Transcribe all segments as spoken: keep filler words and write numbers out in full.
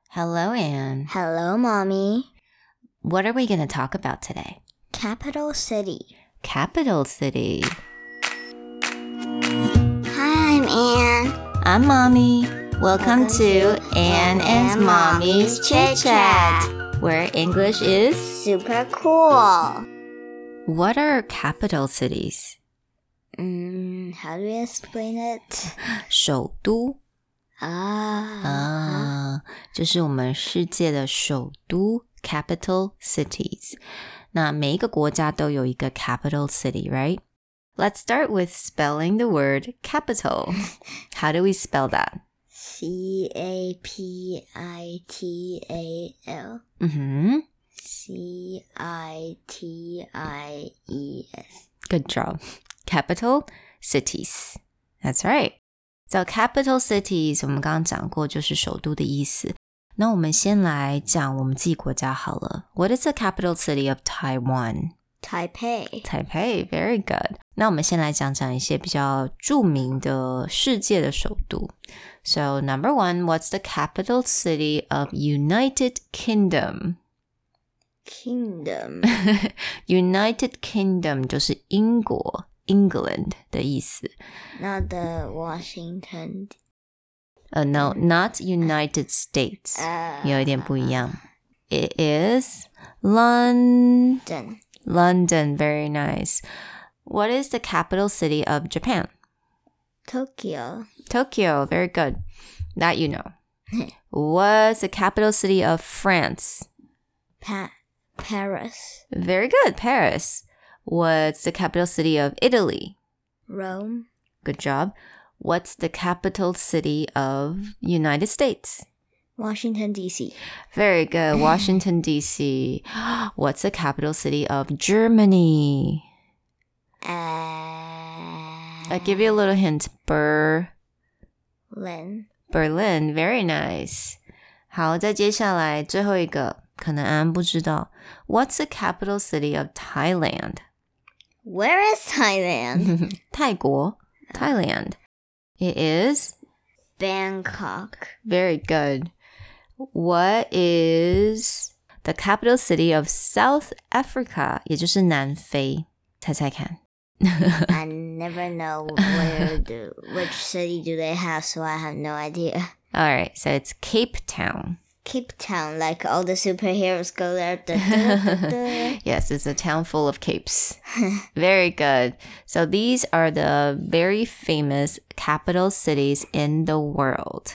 Hello, Anne. Hello, Mommy. What are we going to talk about today? Capital city. Capital city. Hi, I'm Anne. I'm Mommy. Welcome, Welcome to, to Anne and and Mommy's Mommy's Chit Chat, Chit where English is... Super cool. What are capital cities? Mm, how do we explain it? 首都啊啊，就是我们世界的首都 capital cities. 那每一个国家都有一个 capital city, right? Let's start with spelling the word capital. How do we spell that? C A P I T A L. Mm-hmm. C I T I E S. Good job. Capital cities. That's right. So capital cities 我们刚刚讲过就是首都的意思。那我们先来讲我们自己国家好了。What is the capital city of Taiwan? Taipei. Taipei, very good. 那我们先来讲讲一些比较著名的世界的首都。So number one, what's the capital city of United Kingdom? Kingdom. United Kingdom 就是英国 England 的意思。 Not the Washington. Uh, no, not United States. Uh, 有一点不一样。It is London. Done. London, very nice. What is the capital city of Japan? Tokyo. Tokyo, very good. That you know. What's the capital city of France? Pa- Paris. Very good, Paris. What's the capital city of Italy? Rome. Good job. What's the capital city of United States? Washington, D C. Very good. Washington, D C. What's the capital city of Germany? Uh, I'll give you a little hint. Berlin. Berlin. Very nice. 好，再接下来最后一个，可能安安不知道。What's the capital city of Thailand? Where is Thailand? 泰国 Thailand. It is? Bangkok. Very good. What is the capital city of South Africa? 也就是南非。猜猜看。 I never know where do, which city do they have, so I have no idea. All right, so it's Cape Town. Cape Town, like all the superheroes go there. Da, da, da, da. Yes, it's a town full of capes. Very good. So these are the very famous capital cities in the world.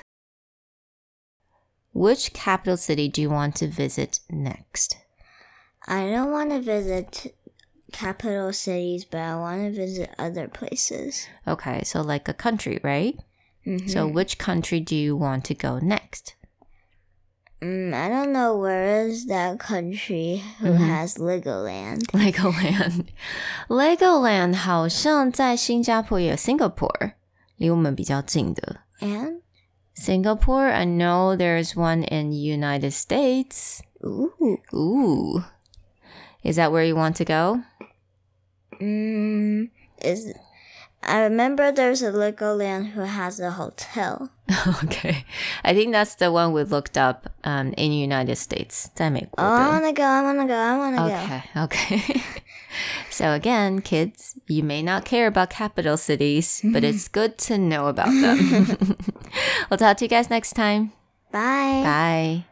Which capital city do you want to visit next? I don't want to visit capital cities, but I want to visit other places. Okay, so like a country, right? Mm-hmm. So which country do you want to go next? Mm, I don't know where is that country who Mm-hmm. has Legoland. Legoland. Legoland 好像在新加坡也有 Singapore, 离我们比较近的。 And? Singapore, I know there's one in the United States. Ooh. Ooh. Is that where you want to go? Mm, is I remember there's a Legoland who has a hotel. Okay. I think that's the one we looked up um, in the United States. 在美国的。 Oh, I wanna go, I wanna go, I wanna Okay, okay. So again, kids, you may not care about capital cities, but it's good to know about them. We'll talk to you guys next time. go. Bye. Bye.